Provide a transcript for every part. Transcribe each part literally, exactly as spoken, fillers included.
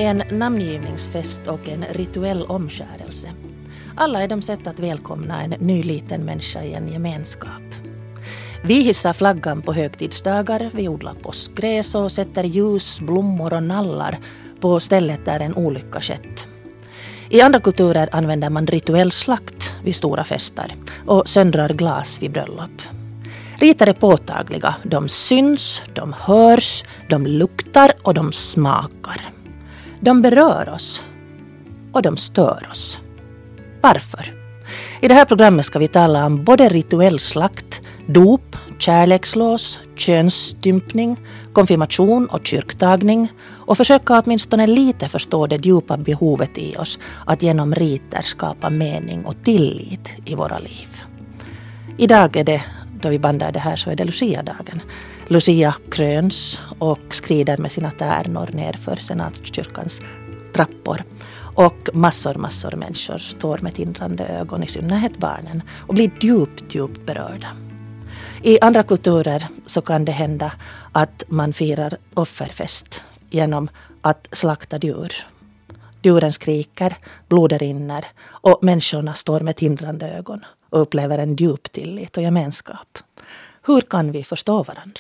en namngivningsfest och en rituell omskärelse. Alla är de sätt att välkomna en ny liten människa i en gemenskap. Vi hissar flaggan på högtidsdagar, vi odlar påskgräs och sätter ljus, blommor och nallar på stället där en olycka skett. I andra kulturer använder man rituell slakt vid stora fester och söndrar glas vid bröllop. Riter är påtagliga, de syns, de hörs, de luktar och de smakar. De berör oss och de stör oss. Varför? I det här programmet ska vi tala om både rituell slakt, dop, kärlekslås, könsstympning, konfirmation och kyrktagning och försöka åtminstone lite förstå det djupa behovet i oss att genom riter skapa mening och tillit i våra liv. Idag är det, då vi bandar det här, så är det Lucia-dagen. Lucia kröns och skrider med sina tärnor ner för senatskyrkans trappor. Och massor, massor människor står med tindrande ögon, i synnerhet barnen, och blir djupt, djupt berörda. I andra kulturer så kan det hända att man firar offerfest genom att slakta djur. Djuren skriker, blodet rinner och människorna står med tindrande ögon och upplever en djup tillit och gemenskap. Hur kan vi förstå varandra?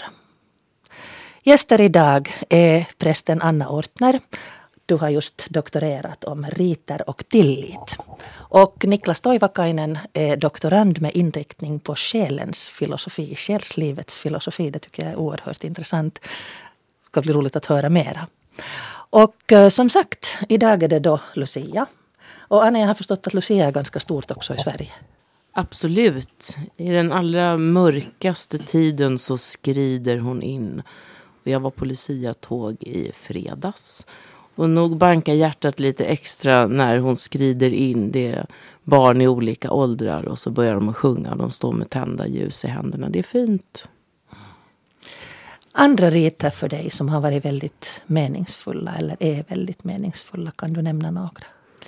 Gäster idag är prästen Anna Ortner. Du har just doktorerat om riter och tillit. Och Niklas Toivakainen är doktorand med inriktning på själens filosofi, själslivets filosofi. Det tycker jag är oerhört intressant. Det ska bli roligt att höra mera. Och eh, som sagt, idag är det då Lucia. Och Anna, jag har förstått att Lucia är ganska stort också i Sverige. Absolut. I den allra mörkaste tiden så skrider hon in. Och jag var på Lucia-tåg i fredags. Och nog bankar hjärtat lite extra när hon skrider in. Det är barn i olika åldrar och så börjar de att sjunga. De står med tända ljus i händerna. Det är fint. Andra riter för dig som har varit väldigt meningsfulla eller är väldigt meningsfulla, kan du nämna några?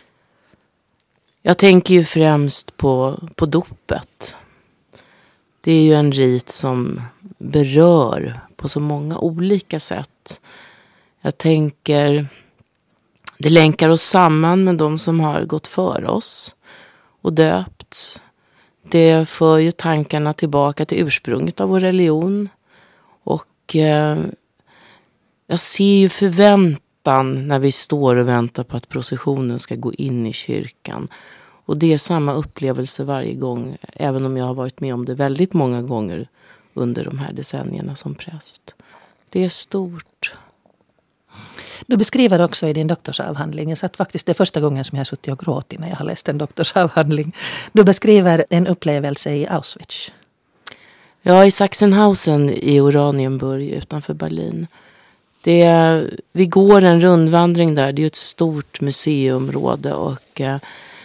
Jag tänker ju främst på, på dopet. Det är ju en rit som berör på så många olika sätt. Jag tänker, det länkar oss samman med de som har gått före oss och döpts. Det för ju tankarna tillbaka till ursprunget av vår religion. Och eh, jag ser ju förväntan när vi står och väntar på att processionen ska gå in i kyrkan. Och det är samma upplevelse varje gång, även om jag har varit med om det väldigt många gånger under de här decennierna som präst. Det är stort. Du beskriver också i din doktorsavhandling, jag satt faktiskt det första gången som jag har suttit och gråtit när jag har läst en doktorsavhandling. Du beskriver en upplevelse i Auschwitz. Ja, i Sachsenhausen i Oranienburg utanför Berlin. Det är, vi går en rundvandring där, det är ett stort museiområde och eh,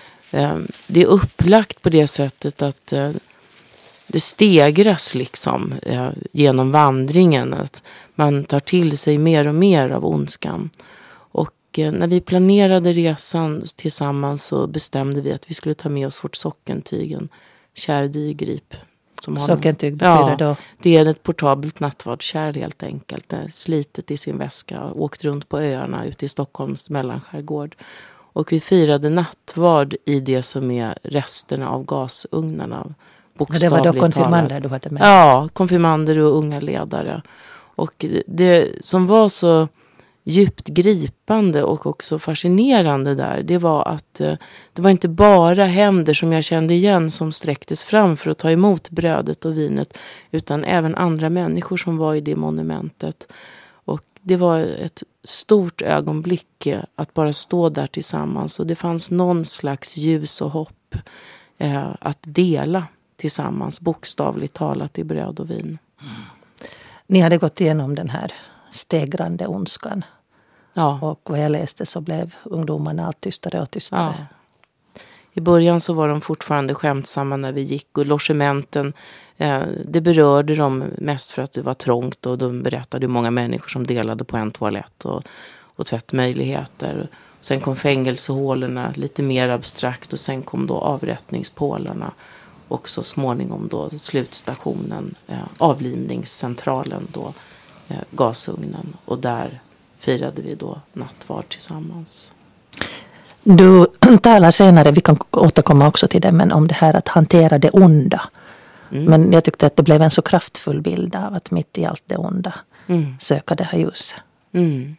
det är upplagt på det sättet att eh, det stegras liksom eh, genom vandringen, att man tar till sig mer och mer av ondskan. Och eh, när vi planerade resan tillsammans så bestämde vi att vi skulle ta med oss vårt sockentyg, en kärdygrip. Sockentyg betyder ja, då? Det är ett portabelt nattvardskärl helt enkelt. Det är slitet i sin väska, åkt runt på öarna ute i Stockholms mellanskärgård. Och vi firade nattvard i det som är resterna av gasugnarna. Och det var då konfirmander du hade med? Ja, konfirmander och unga ledare. Och det som var så djupt gripande och också fascinerande där, det var att eh, det var inte bara händer som jag kände igen som sträcktes fram för att ta emot brödet och vinet, utan även andra människor som var i det monumentet. Och det var ett stort ögonblick eh, att bara stå där tillsammans, och det fanns någon slags ljus och hopp eh, att dela tillsammans, bokstavligt talat, i bröd och vin. Mm. Ni hade gått igenom den här stegrande ondskan. Ja. Och vad jag läste så blev ungdomarna allt tystare och tystare. Ja. I början så var de fortfarande skämtsamma när vi gick, och logementen, eh, det berörde dem mest för att det var trångt, och de berättade hur många människor som delade på en toalett och, och tvättmöjligheter. Sen kom fängelsehålorna, lite mer abstrakt, och sen kom då avrättningspålarna. Och så småningom då slutstationen, eh, avlivningscentralen då, eh, gasugnen. Och där firade vi då nattvard tillsammans. Du talar senare, vi kan återkomma också till det, men om det här att hantera det onda. Mm. Men jag tyckte att det blev en så kraftfull bild av att mitt i allt det onda mm. söka det här ljuset. Mm.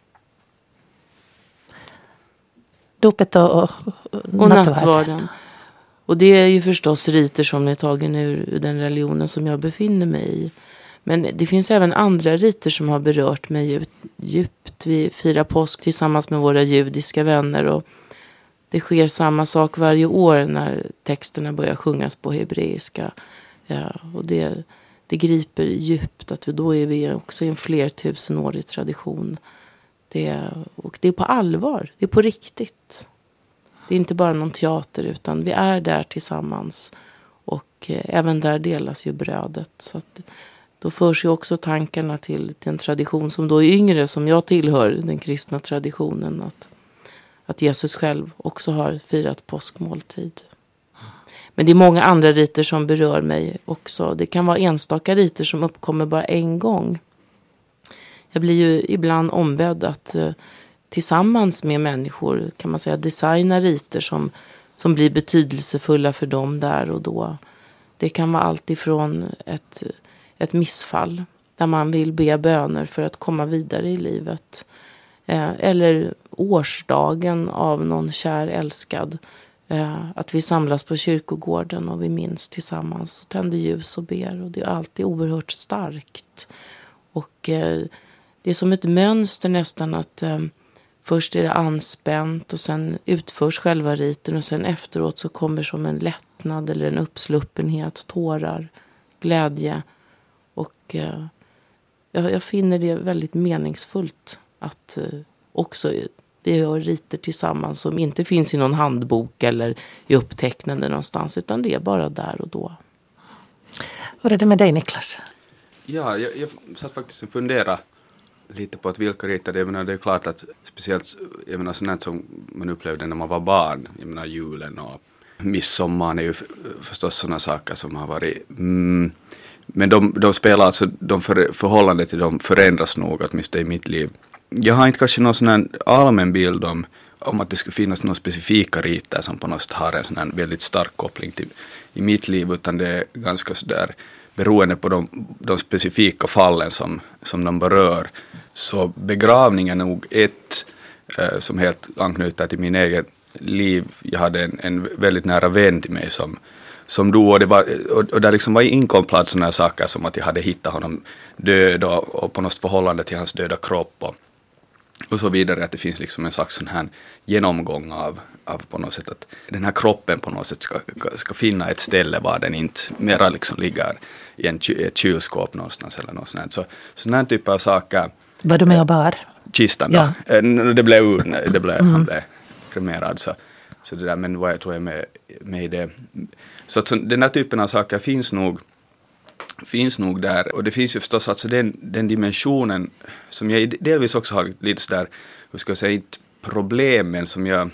Dopet och, och, och nattvarden. Och det är ju förstås riter som är tagen ur den religionen som jag befinner mig i. Men det finns även andra riter som har berört mig djupt. Vi firar påsk tillsammans med våra judiska vänner och det sker samma sak varje år när texterna börjar sjungas på hebreiska. Ja, och det, det griper djupt att vi, då är vi också i en flertusenårig tradition. Det, och det är på allvar, det är på riktigt. Det är inte bara någon teater utan vi är där tillsammans. Och eh, även där delas ju brödet. Så att, då förs ju också tankarna till, till en tradition som då är yngre, som jag tillhör, den kristna traditionen. Att, att Jesus själv också har firat påskmåltid. Men det är många andra riter som berör mig också. Det kan vara enstaka riter som uppkommer bara en gång. Jag blir ju ibland ombedd att eh, tillsammans med människor, kan man säga, designa riter som, som blir betydelsefulla för dem där och då. Det kan vara allt ifrån ett, ett missfall där man vill be böner för att komma vidare i livet. Eh, eller årsdagen av någon kär älskad. Eh, att vi samlas på kyrkogården och vi minns tillsammans och tänder ljus och ber. Och det är alltid oerhört starkt. Och eh, det är som ett mönster nästan att eh, först är det anspänt och sen utförs själva riten och sen efteråt så kommer som en lättnad eller en uppsluppenhet, tårar, glädje. Och eh, jag, jag finner det väldigt meningsfullt att eh, också vi gör riter tillsammans som inte finns i någon handbok eller i upptecknande någonstans, utan det är bara där och då. Hur är det med dig, Niklas? Ja, jag, jag satt faktiskt och funderade lite på att vilka riter det är. Men det är klart att speciellt jag menar, sånt som man upplevde när man var barn, jag menar julen och midsommar är ju förstås sådana saker som har varit mm, men de, de spelar alltså, de för, förhållande till dem förändras nog åtminstone i mitt liv. Jag har inte kanske någon sån här allmän bild om, om att det skulle finnas några specifika riter som på något sätt har en sån här väldigt stark koppling till i mitt liv, utan det är ganska sådär beroende på de, de specifika fallen som, som de berör. Så begravningen är nog ett eh, som helt anknyter till min egen liv. Jag hade en, en väldigt nära vän till mig som, som dog, och, det var, och, och där liksom var inkomplad sådana saker som att jag hade hittat honom död och, och på något förhållande till hans döda kropp och, och så vidare, att det finns liksom en slags sån här genomgång av, av på något sätt att den här kroppen på något sätt ska, ska finna ett ställe var den inte mera liksom ligger i en, ett kylskåp någonstans eller något sånt. Så sådana här typer av saker. Var du med och bar? Kistan då. Ja. Det blev ur, det blev, mm. han blev kremerad så, så det där, men vad jag tror jag med, med i det. Så att så, den här typen av saker finns nog finns nog där, och det finns ju förstås alltså den, den dimensionen som jag delvis också har lite sådär, hur ska jag säga, inte problem, men som jag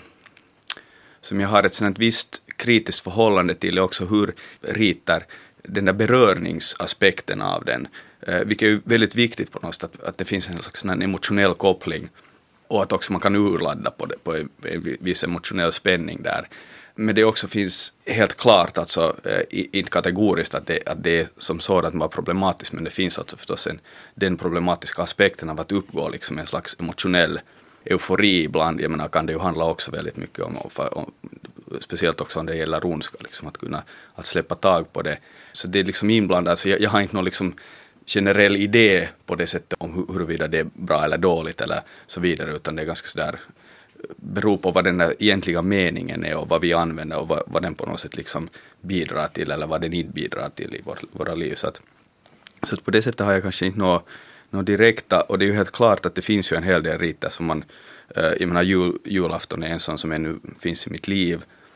som jag har ett sådant visst kritiskt förhållande till, också hur ritar den där berörningsaspekten av den, eh, vilket är väldigt viktigt på något sätt, att, att det finns en slags en emotionell koppling och att också man kan urladda på det, på en, en viss emotionell spänning där. Men det också finns helt klart, alltså eh, inte kategoriskt att det, att det är som sådant var problematiskt, men det finns alltså förstås en, den problematiska aspekten av att uppgå liksom en slags emotionell eufori ibland. Jag menar, kan det ju handla också väldigt mycket om, om, om speciellt också om det gäller ondska, liksom, att kunna att släppa tag på det. Så det är liksom inblandat, alltså jag, jag har inte någon liksom generell idé på det sättet om hur, huruvida det är bra eller dåligt eller så vidare, utan det är ganska sådär, beror på vad den där egentliga meningen är och vad vi använder och vad, vad den på något sätt liksom bidrar till eller vad den inte bidrar till i vår, våra liv. Så, att, så att på det sättet har jag kanske inte något, något direkta, och det är ju helt klart att det finns ju en hel del riter som man, eh, jag menar jul, julafton är en sån som ännu finns i mitt liv.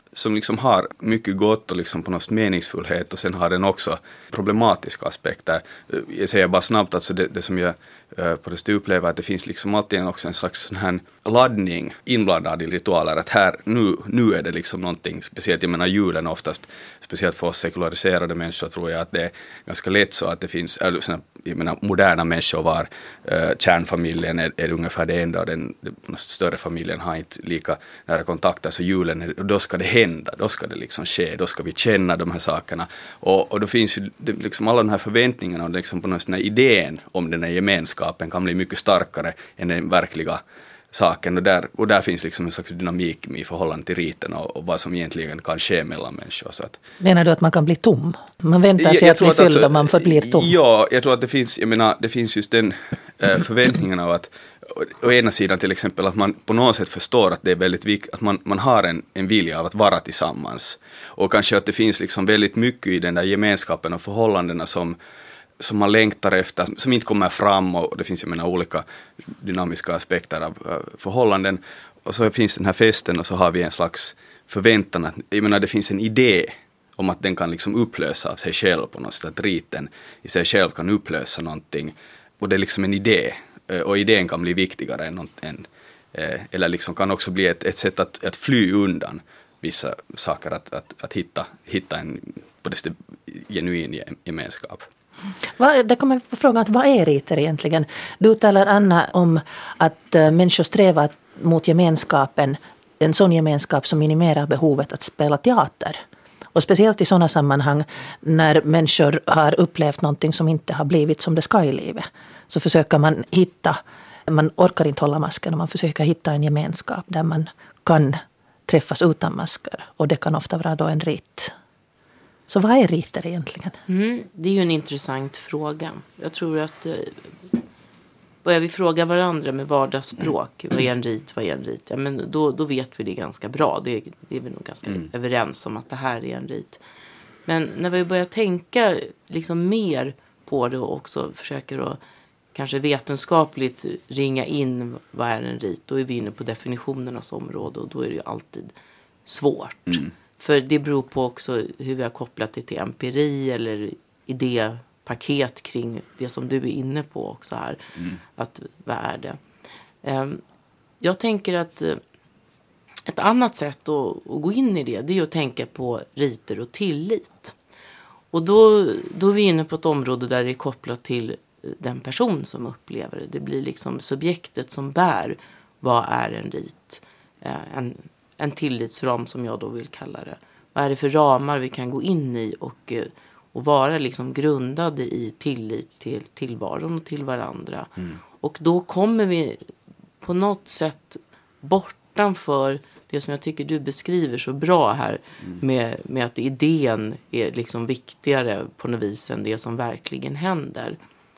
som liksom har mycket gott och liksom på något meningsfullhet, och sen har den också problematiska aspekter. Jag säger bara snabbt, alltså det, det som jag uh, på det stu upplever, att det finns liksom alltid också en slags sån här laddning inblandad i ritualer, att här, nu, nu är det liksom någonting speciellt. Jag menar julen oftast, speciellt för oss sekulariserade människor, tror jag att det är ganska lätt så att det finns, eller såna, jag menar moderna människor var uh, kärnfamiljen är, är ungefär det enda, och den, den större familjen har inte lika nära kontakter, så julen är, och då ska det hända, då ska det liksom ske, då ska vi känna de här sakerna, och, och då finns ju det, liksom alla de här förväntningarna, och liksom på något sån här idén om den här gemenskapen kan bli mycket starkare än den verkliga saken, och där, och där finns liksom en slags dynamik i förhållande till riten och, och vad som egentligen kan ske mellan människor. Så att, menar du att man kan bli tom? Man väntar sig jag, att bli fylld alltså, och man förblir tom? Ja, jag tror att det finns, jag menar, det finns just den äh, förväntningen av att å ena sidan till exempel att man på något sätt förstår att det är väldigt viktigt, att man, man har en, en vilja av att vara tillsammans, och kanske att det finns liksom väldigt mycket i den där gemenskapen och förhållandena som som man längtar efter, som inte kommer fram, och det finns, jag menar, olika dynamiska aspekter av uh, förhållanden, och så finns den här festen, och så har vi en slags förväntan att, jag menar, det finns en idé om att den kan liksom upplösa av sig själv på något sätt, att riten i sig själv kan upplösa någonting, och det är liksom en idé, uh, och idén kan bli viktigare än något, än, uh, eller liksom kan också bli ett, ett sätt att, att fly undan vissa saker, att, att, att hitta, hitta en på det genuin gemenskap. Det kommer på frågan att vad är riter egentligen? Du talar, Anna, om att äh, människor strävar mot gemenskapen, en sån gemenskap som minimerar behovet att spela teater. Och speciellt i sådana sammanhang när människor har upplevt någonting som inte har blivit som det ska i livet, så försöker man hitta, man orkar inte hålla masken, och man försöker hitta en gemenskap där man kan träffas utan masker, och det kan ofta vara då en rit. Så vad är riter egentligen? Mm, det är ju en intressant fråga. Jag tror att eh, börjar vi fråga varandra med vardagsspråk, vad är en rit, vad är en rit? Ja, men då, då vet vi det ganska bra. Det, det är vi nog ganska mm. överens om att det här är en rit. Men när vi börjar tänka liksom mer på det och också försöker att kanske vetenskapligt ringa in vad är en rit, då är vi inne på definitionernas område, och då är det ju alltid svårt. Mm. För det beror på också hur vi har kopplat det till empiri eller idépaket kring det som du är inne på också här. Mm. Att vad är det? Jag tänker att ett annat sätt att, att gå in i det, det är att tänka på riter och tillit. Och då, då är vi inne på ett område där det är kopplat till den person som upplever det. Det blir liksom subjektet som bär vad är en rit. En En tillitsram som jag då vill kalla det. Vad är det för ramar vi kan gå in i och, och vara liksom grundade i tillit till tillvaron och till varandra. Mm. Och då kommer vi på något sätt bortanför det som jag tycker du beskriver så bra här. Mm. Med, med att idén är liksom viktigare på något vis än det som verkligen händer.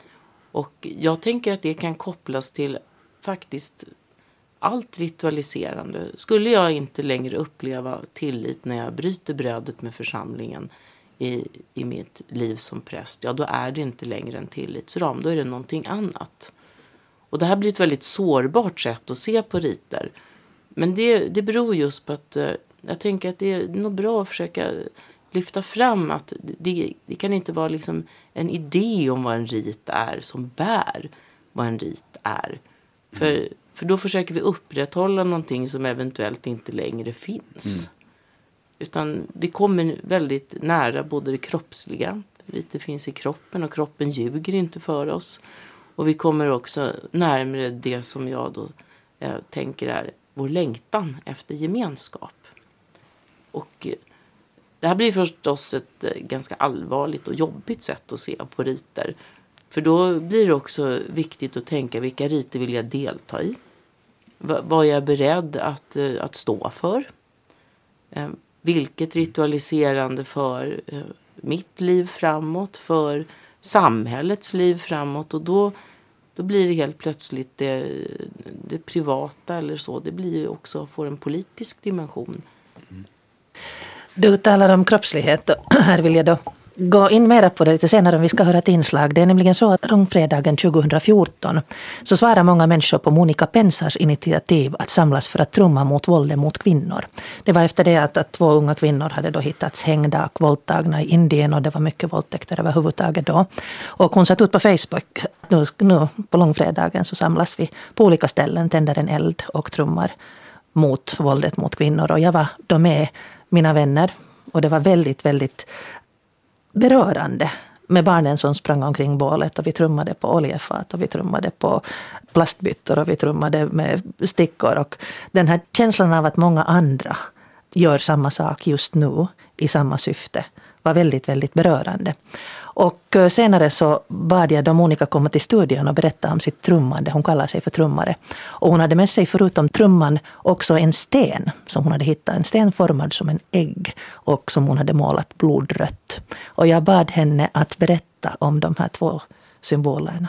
Och jag tänker att det kan kopplas till faktiskt allt ritualiserande. Skulle jag inte längre uppleva tillit när jag bryter brödet med församlingen i, i mitt liv som präst, ja, då är det inte längre en tillitsram. Då är det någonting annat. Och det här blir ett väldigt sårbart sätt att se på riter. Men det, det beror just på att eh, jag tänker att det är nog bra att försöka lyfta fram att det, det kan inte vara liksom en idé om vad en rit är som bär vad en rit är. För mm. För då försöker vi upprätthålla någonting som eventuellt inte längre finns. Mm. Utan vi kommer väldigt nära både det kroppsliga. Lite finns i kroppen och kroppen ljuger inte för oss. Och vi kommer också närmare det som jag då eh, tänker är vår längtan efter gemenskap. Och eh, det här blir förstås ett eh, ganska allvarligt och jobbigt sätt att se på riter. För då blir det också viktigt att tänka vilka riter vill jag delta i. V- vad är jag beredd att, uh, att stå för? Uh, vilket ritualiserande för uh, mitt liv framåt, för samhällets liv framåt. Och då, då blir det helt plötsligt det, det privata eller så. Det blir ju också, får en politisk dimension. Mm. Du talar om kroppslighet och här vill jag då gå in mera på det lite senare om vi ska höra ett inslag. Det är nämligen så att långfredagen tjugohundrafjorton så svarar många människor på Monica Pensars initiativ att samlas för att trumma mot våldet mot kvinnor. Det var efter det att, att två unga kvinnor hade då hittats hängda och våldtagna i Indien och det var mycket våldtäkter överhuvudtaget då. Och hon satt ut på Facebook nu, nu på långfredagen så samlas vi på olika ställen, tänder en eld och trummar mot våldet mot kvinnor. Och jag var då med mina vänner och det var väldigt, väldigt berörande med barnen som sprang omkring bålet och vi trummade på oljefat och vi trummade på plastbyttor och vi trummade med stickor. Och den här känslan av att många andra gör samma sak just nu i samma syfte var väldigt, väldigt berörande. Och senare så bad jag då Monica komma till studion och berätta om sitt trummande. Hon kallar sig för trummare. Och hon hade med sig förutom trumman också en sten som hon hade hittat. En sten formad som en ägg och som hon hade målat blodrött. Och jag bad henne att berätta om de här två symbolerna.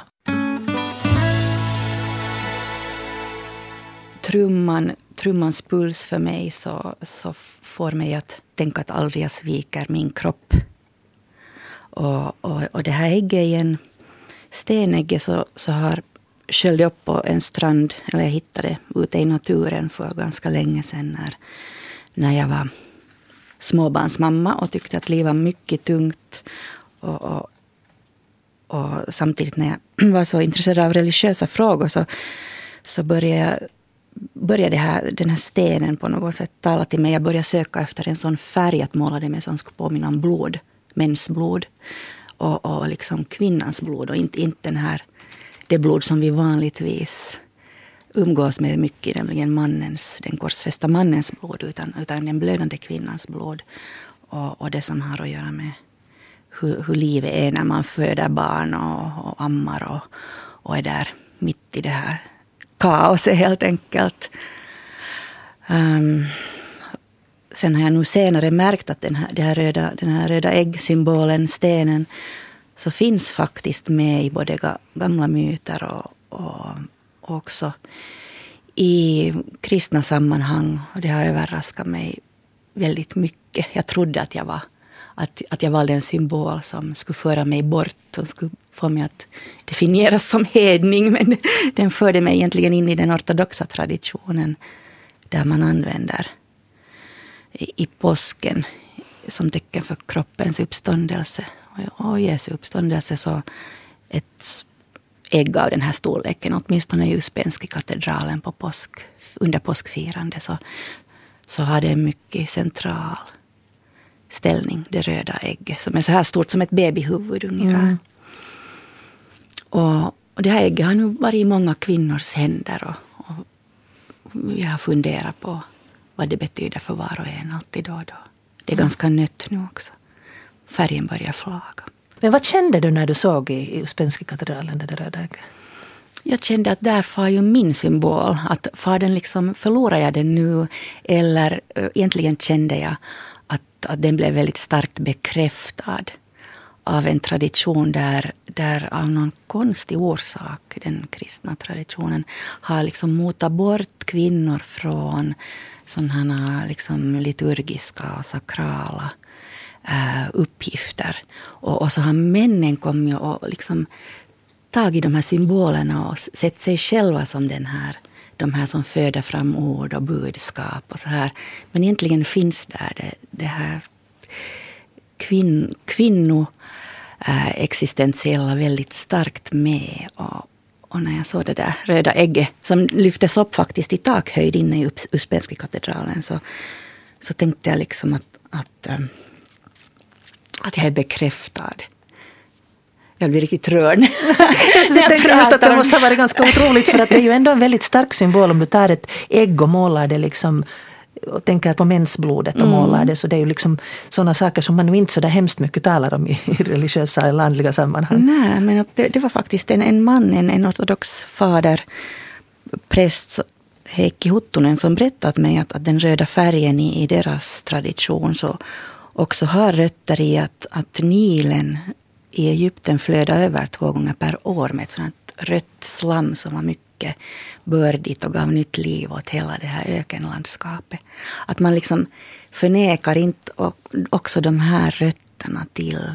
Trumman, trummans puls för mig så, så får mig att tänka att aldrig jag sviker min kropp. Och, och, och det här ägget i en stenägge så, så har sköljde upp på en strand, eller jag hittade ute i naturen för ganska länge sedan när, när jag var småbarnsmamma och tyckte att livet var mycket tungt. Och, och, och samtidigt när jag var så intresserad av religiösa frågor så, så började jag började det här, den här stenen på något sätt tala till mig. Jag började söka efter en sån färg att måla det med som skulle påminna om blod. Mensblod och, och liksom kvinnans blod och inte, inte den här, det blod som vi vanligtvis umgås med mycket, nämligen mannens, den korsfästa mannens blod utan, utan den blödande kvinnans blod och, och det som har att göra med hur, hur livet är när man föder barn och, och ammar och, och är där mitt i det här kaoset helt enkelt. Um, Sen har jag nu senare märkt att den här, det här röda, den här röda äggsymbolen, stenen, så finns faktiskt med i både gamla myter och, och, och också i kristna sammanhang. Och det har överraskat mig väldigt mycket. Jag trodde att jag var, att, att jag valde en symbol som skulle föra mig bort, som skulle få mig att definieras som hedning. Men den förde mig egentligen in i den ortodoxa traditionen där man använder i påsken som tecken för kroppens uppståndelse och Jesu uppståndelse så ett ägg av den här storleken, åtminstone i Uspenski katedralen på påsk, under påskfirande så, så har det en mycket central ställning, det röda ägget som är så här stort som ett babyhuvud ungefär. Mm. Och, och det här ägget har nu varit i många kvinnors händer och, och jag har funderat på vad det betyder för var och en alltid då och då. Det är mm. ganska nött nu också. Färgen börjar flaga. Men vad kände du när du såg i Uspenski katedralen det röda ägget? Jag kände att där var ju min symbol. Att far den liksom, förlorar jag den nu? Eller äh, egentligen kände jag att, att den blev väldigt starkt bekräftad av en tradition där, där av någon konstig orsak, den kristna traditionen, har liksom motat bort kvinnor från sådana liksom liturgiska och sakrala äh, uppgifter. Och, och så har männen kommit och liksom tagit de här symbolerna och sett sig själva som den här, de här som föder fram ord och budskap och så här. Men egentligen finns där det, det här kvinn, kvinno äh, existentiella väldigt starkt med. Och, och när jag såg det där röda ägget som lyftes upp faktiskt i takhöjd inne i Uspenski katedralen så, så tänkte jag liksom att, att, ähm, att jag är bekräftad. Jag blir riktigt rörd. Jag tänkte just att det måste ha varit ganska otroligt för att det är ju ändå en väldigt stark symbol om du tar ett ägg och målar det liksom och tänker på mensblodet och mm. målar det så det är ju liksom sådana saker som man nu inte så där hemskt mycket talar om i religiösa eller andliga sammanhang. Nej, men att det, det var faktiskt en, en man, en, en ortodox fader, präst Heikki Huttunen som berättat mig att, att den röda färgen i, i deras tradition så också har rötter i att, att Nilen i Egypten flödade över två gånger per år med ett sådant rött slam som var mycket bördigt och gav nytt liv åt hela det här ökenlandskapet. Att man liksom förnekar inte också de här rötterna till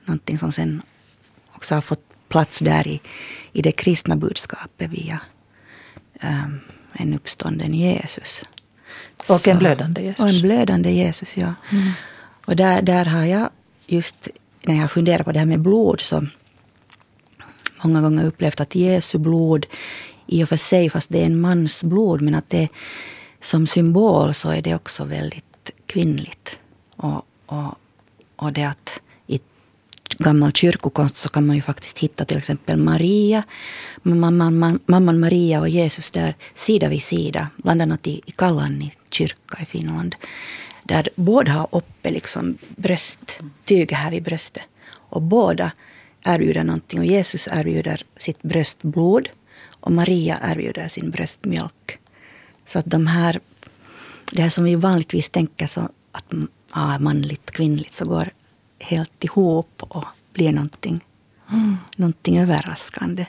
någonting som sen också har fått plats där i, i det kristna budskapet via um, en uppstånden Jesus. Och en blödande Jesus. Och en blödande Jesus, ja. Mm. Och där, där har jag just, när jag funderar på det här med blod, så många gånger upplevt att Jesu blod i och för sig, fast det är en mans blod, men att det som symbol så är det också väldigt kvinnligt. Och, och, och det att i gammal kyrkokonst så kan man ju faktiskt hitta till exempel Maria, mamman, mamman, mamman Maria och Jesus där sida vid sida, bland annat i, i Kalanni kyrka i Finland. Där båda har uppe liksom brösttyget här vid bröstet. Och båda erbjuder någonting. Och Jesus erbjuder sitt bröstblod. Och Maria erbjuder sin bröstmjölk. Så att de här, det här som vi vanligtvis tänker så att ja, manligt, kvinnligt, så går helt ihop och blir någonting, mm. någonting överraskande.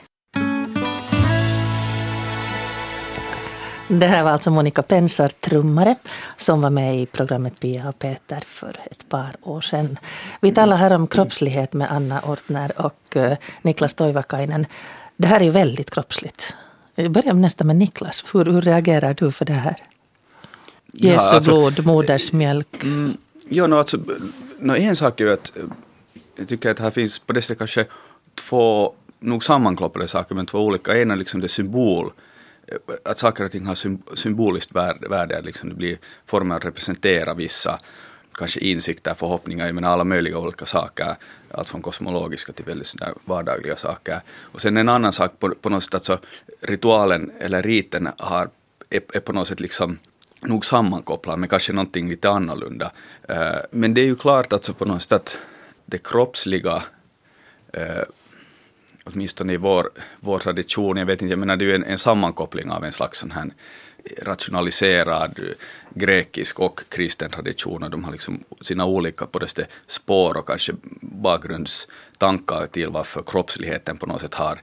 Det här var alltså Monica Pensar, trummare, som var med i programmet Pia och Peter för ett par år sedan. Vi talar här om kroppslighet med Anna Ortner och uh, Niklas Toivakainen. Det här är ju väldigt kroppsligt. Jag börjar nästan med Niklas. Hur, hur reagerar du för det här? Jesu ja, alltså, blod, modersmjölk. Mm, ja, no, alltså, no, en sak är ju att jag tycker att här finns på det sättet kanske två nog sammankloppade saker, men två olika. En är liksom det symbol. Att saker och ting har symboliskt värde, liksom det blir former att representera vissa kanske insikter, förhoppningar, jag menar alla möjliga olika saker, allt från kosmologiska till väldigt sådär vardagliga saker. Och sen en annan sak på, på något sätt, alltså ritualen eller riten har, är, är på något sätt liksom nog sammankopplad med kanske någonting lite annorlunda. Uh, men det är ju klart alltså på något sätt att det kroppsliga uh, åtminstone i vår, vår tradition, jag vet inte, jag menar det är ju en, en sammankoppling av en slags sån här rationaliserad grekisk och kristen tradition, och de har liksom sina olika på det sättet spår och kanske bakgrundstankar till varför kroppsligheten på något sätt har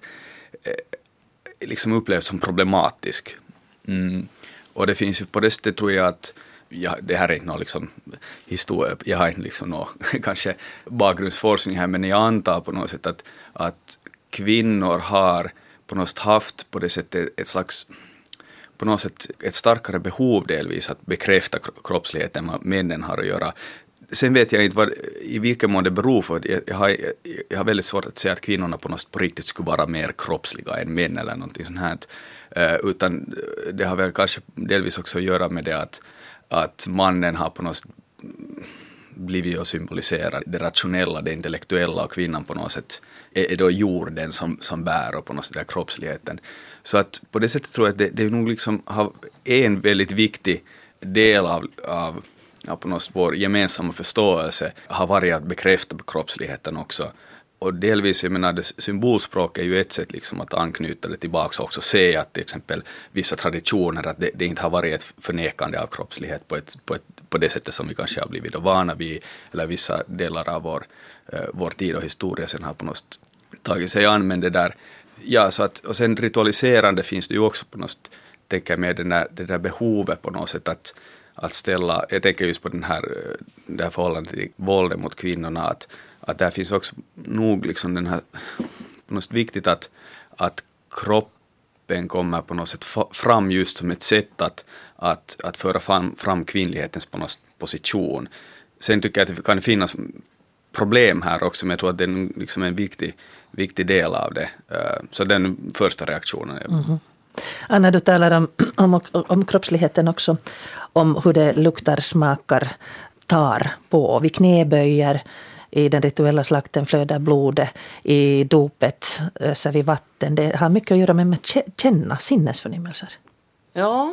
eh, liksom upplevs som problematisk. Mm. Och det finns ju på det sättet, tror jag, att ja, det här är inte någon liksom historia, jag har inte liksom någon kanske bakgrundsforskning här, men jag antar på något sätt att, att kvinnor har på något sätt haft på det sättet ett slags, på något sätt ett starkare behov delvis att bekräfta kroppsligheten än vad männen har att göra. Sen vet jag inte vad, i vilken mån det beror på. Jag, jag, har, jag har väldigt svårt att säga att kvinnorna på något sätt på riktigt skulle vara mer kroppsliga än män eller någonting sånt här. Uh, utan det har väl kanske delvis också att göra med det att, att mannen har på något sätt blivit och symboliserar det rationella, det intellektuella, och kvinnan på något sätt är, är då jorden som, som bär och på något sätt där kroppsligheten. Så att på det sättet tror jag att det, det är nog liksom har en väldigt viktig del av, av, av på något sätt vår gemensamma förståelse har varit att bekräfta kroppsligheten också. Och delvis, jag menar, det symbolspråk är ju ett sätt liksom att anknyta det tillbaka och också se att till exempel vissa traditioner, att det, det inte har varit ett förnekande av kroppslighet på, ett, på, ett, på det sättet som vi kanske har blivit vana vid, eller vissa delar av vår, uh, vår tid och historia sen har på något sätt tagit sig an, men det där, ja, så att, och sen ritualiserande finns det ju också på något sätt, tänker jag med den där, det där behovet på något sätt att, att ställa, jag tänker just på den här, det här förhållandet till våldet mot kvinnorna, att att där finns också nog liksom den här, på något sätt viktigt att, att kroppen kommer på något sätt fram just som ett sätt att, att, att föra fram, fram kvinnlighetens på något position. Sen tycker jag att det kan finnas problem här också, men jag tror att det är liksom en viktig, viktig del av det. Så den första reaktionen är... Mm-hmm. Anna, du talar om, om, om kroppsligheten också, om hur det luktar, smakar, tar på. Vi knäböjer. I den rituella slakten flödar blodet, i dopet öser vi vatten. Det har mycket att göra med att känna sinnesförnimmelser. Ja,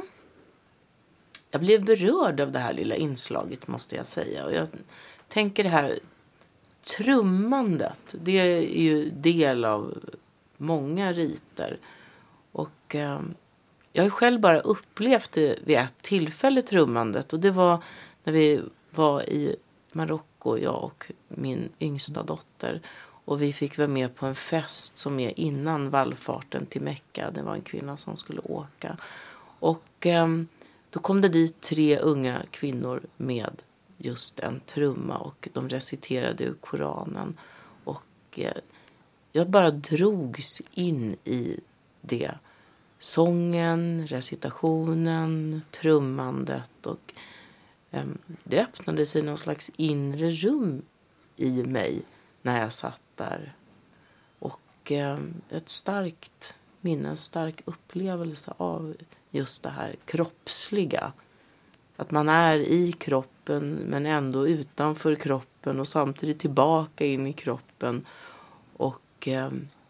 jag blev berörd av det här lilla inslaget, måste jag säga. Och jag tänker det här trummandet, det är ju del av många riter. Och eh, jag har själv bara upplevt det vid ett tillfälle, trummandet. Och det var när vi var i Marocko, jag och min yngsta dotter. Och vi fick vara med på en fest som är innan vallfarten till Mecka. Det var en kvinna som skulle åka. Och eh, då kom det dit tre unga kvinnor med just en trumma. Och de reciterade ur Koranen. Och eh, jag bara drogs in i det. Sången, recitationen, trummandet och eh, det öppnade sig någon slags inre rum i mig när jag satt där. Och eh, ett starkt minne, en stark upplevelse av just det här kroppsliga. Att man är i kroppen men ändå utanför kroppen och samtidigt tillbaka in i kroppen. Och eh,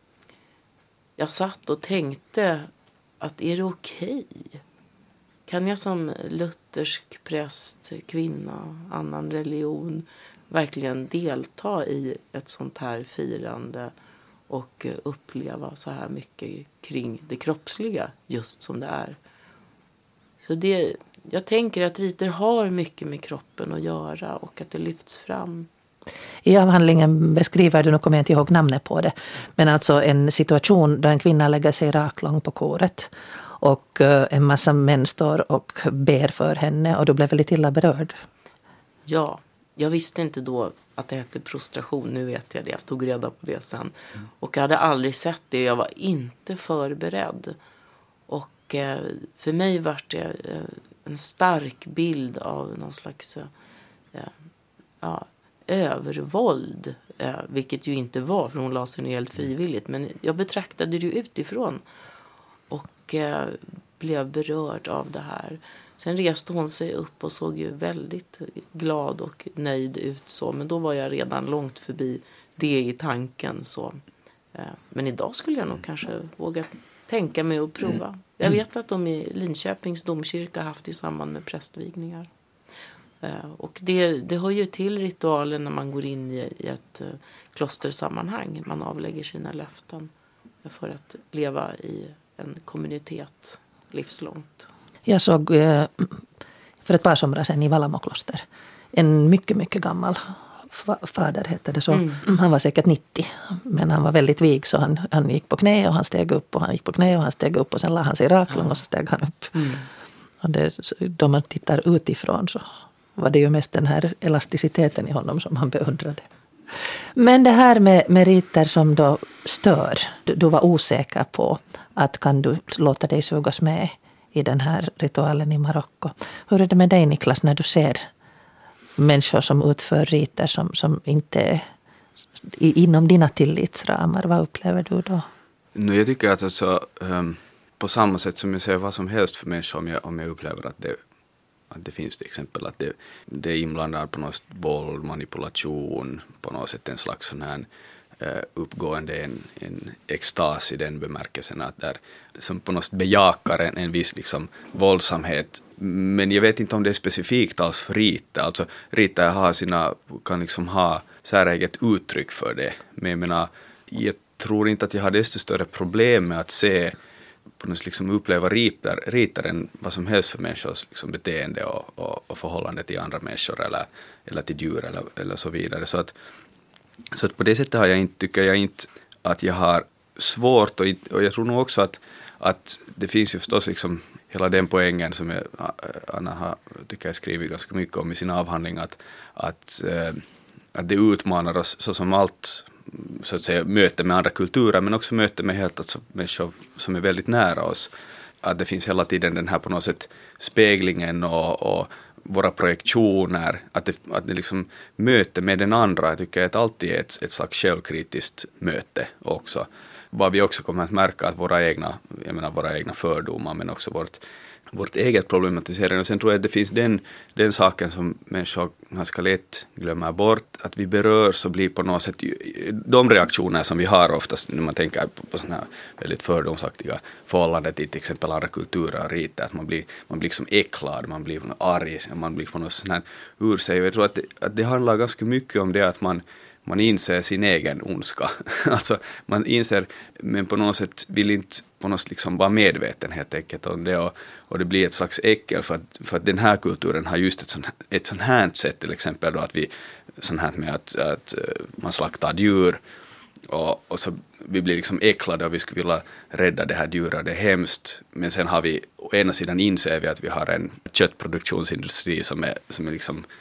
jag satt och tänkte att är det okej? Kan jag som luthersk präst, kvinna, annan religion verkligen delta i ett sånt här firande och uppleva så här mycket kring det kroppsliga just som det är? Så det, jag tänker att riter har mycket med kroppen att göra och att det lyfts fram. I avhandlingen beskriver du, nu kommer jag inte ihåg namnet på det, men alltså en situation där en kvinna lägger sig raklång på koret och en massa män står och ber för henne och du blev väldigt illa berörd. Ja, jag visste inte då att det hette prostration, nu vet jag det, jag tog reda på det sen. Mm. Och jag hade aldrig sett det, jag var inte förberedd. Och eh, för mig var det eh, en stark bild av någon slags eh, ja, övervåld, eh, vilket ju inte var, för hon la sig ner helt frivilligt, men jag betraktade det utifrån och eh, blev berörd av det här. Sen reste hon sig upp och såg ju väldigt glad och nöjd ut så, men då var jag redan långt förbi det i tanken så. Eh, men idag skulle jag nog kanske våga tänka mig att prova. Jag vet att de i Linköpings domkyrka har haft i samband med prästvigningar. Och det, det hör ju till ritualen när man går in i, i ett uh, klostersammanhang. Man avlägger sina löften för att leva i en kommunitet livslångt. Jag såg uh, för ett par somrar sedan i Vallamokloster en mycket, mycket gammal fader hette det så. Mm. Han var säkert nittio, men han var väldigt vig så han, han gick på knä och han steg upp och han gick på knä och han steg upp och sen la han sig raklång och så steg han upp. Mm. Och det, då man tittar utifrån så var det ju mest den här elasticiteten i honom som han beundrade. Men det här med, med riter som då stör, du, du var osäker på att kan du låta dig sugas med i den här ritualen i Marocko. Hur är det med dig, Niklas, när du ser människor som utför riter som, som inte är inom dina tillitsramar? Vad upplever du då? Nu, jag tycker att alltså, um, på samma sätt som jag ser vad som helst för människor, om jag, om jag upplever att det, att det finns till exempel att det, det är inblandat på något våld, manipulation, på något sätt en slags sån här uh, uppgående, en, en extas i den bemärkelsen att där, som på något sätt bejakar en, en viss liksom, våldsamhet. Men jag vet inte om det är specifikt alls för riter. Alltså riter har sina, kan liksom ha säreget uttryck för det. Men jag menar, jag tror inte att jag har desto större problem med att se på något liksom uppleva riter, riter än vad som helst för människors liksom beteende och, och, och förhållande till andra människor eller, eller till djur eller, eller så vidare. Så att, så att på det sättet har jag inte, tycker jag inte att jag har svårt och, och jag tror nog också att, att det finns ju förstås liksom hela den poängen som jag, Anna har, tycker jag skrivit ganska mycket om i sin avhandling att, att, eh, att det utmanar oss så som allt så att säga möte med andra kulturer men också möte med helt alltså, människor som är väldigt nära oss. Att det finns hela tiden den här på något sätt speglingen och, och våra projektioner, att det, att det liksom möte med den andra, jag tycker att alltid är ett, ett slags självkritiskt möte också. Vad vi också kommer att märka att våra egna, jag menar våra egna fördomar men också vårt, vårt eget problematisering. Och sen tror jag att det finns den, den saken som människor ganska lätt glömmer bort, att vi berörs och blir på något sätt de reaktioner som vi har oftast när man tänker på, på sådana här väldigt fördomsaktiga förhållanden till till exempel andra kulturer och riter, att man blir, man blir liksom äcklad, man blir arg, man blir på något sån här ur sig. Jag tror att det, att det handlar ganska mycket om det att man Man inser sin egen ondska. Alltså man inser, men på något sätt vill inte på något liksom vara medveten helt enkelt om det. Och, och det blir ett slags äckel för att, för att den här kulturen har just ett sånt, ett sånt här sätt till exempel då att vi, sånt här med att, att man slaktar djur och, och så vi blir liksom äcklade och vi skulle vilja rädda det här djuret, det är hemskt. Men sen har vi, å ena sidan inser vi att vi har en köttproduktionsindustri som är, som är liksom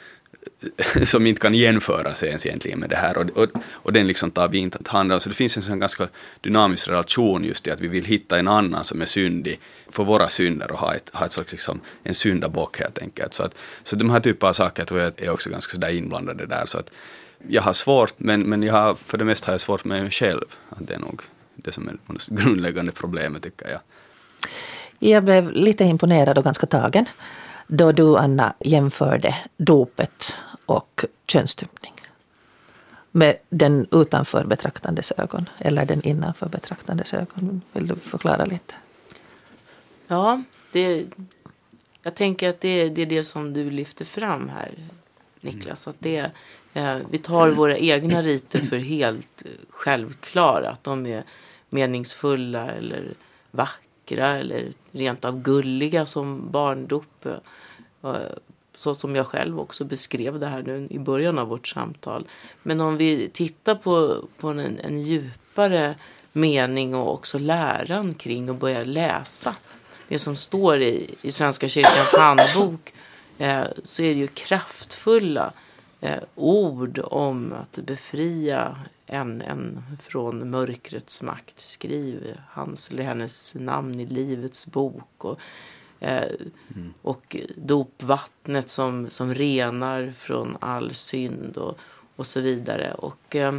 som inte kan jämföras ens egentligen med det här. Och, och, och den liksom tar vi inte hand om. Så det finns en sån ganska dynamisk relation just i att vi vill hitta en annan som är syndig för våra synder och ha, ett, ha ett slags liksom, en syndabock helt enkelt. Så, att, så de här typer av saker tror jag är också ganska sådär inblandade där. Så att jag har svårt, men, men jag har, för det mesta har jag svårt med mig själv. Att det är nog det som är det grundläggande problemet, tycker jag. Jag blev lite imponerad och ganska tagen då du, Anna, jämförde dopet och könsstympning med den utanför betraktandes ögon eller den innanför betraktandes ögon. Vill du förklara lite? Ja, det, jag tänker att det, det är det som du lyfter fram här, Niklas. Att det, eh, vi tar våra egna riter för helt självklara. Att de är meningsfulla eller vackra eller rent av gulliga som barndop. Så som jag själv också beskrev det här nu i början av vårt samtal. Men om vi tittar på, på en, en djupare mening och också läran kring och börjar läsa det som står i, i Svenska kyrkans handbok, eh, så är det ju kraftfulla eh, ord om att befria en, en från mörkrets makt. Skriv hans eller hennes namn i livets bok. Och Eh, mm. och dopvattnet som, som renar från all synd och, och så vidare. Och eh,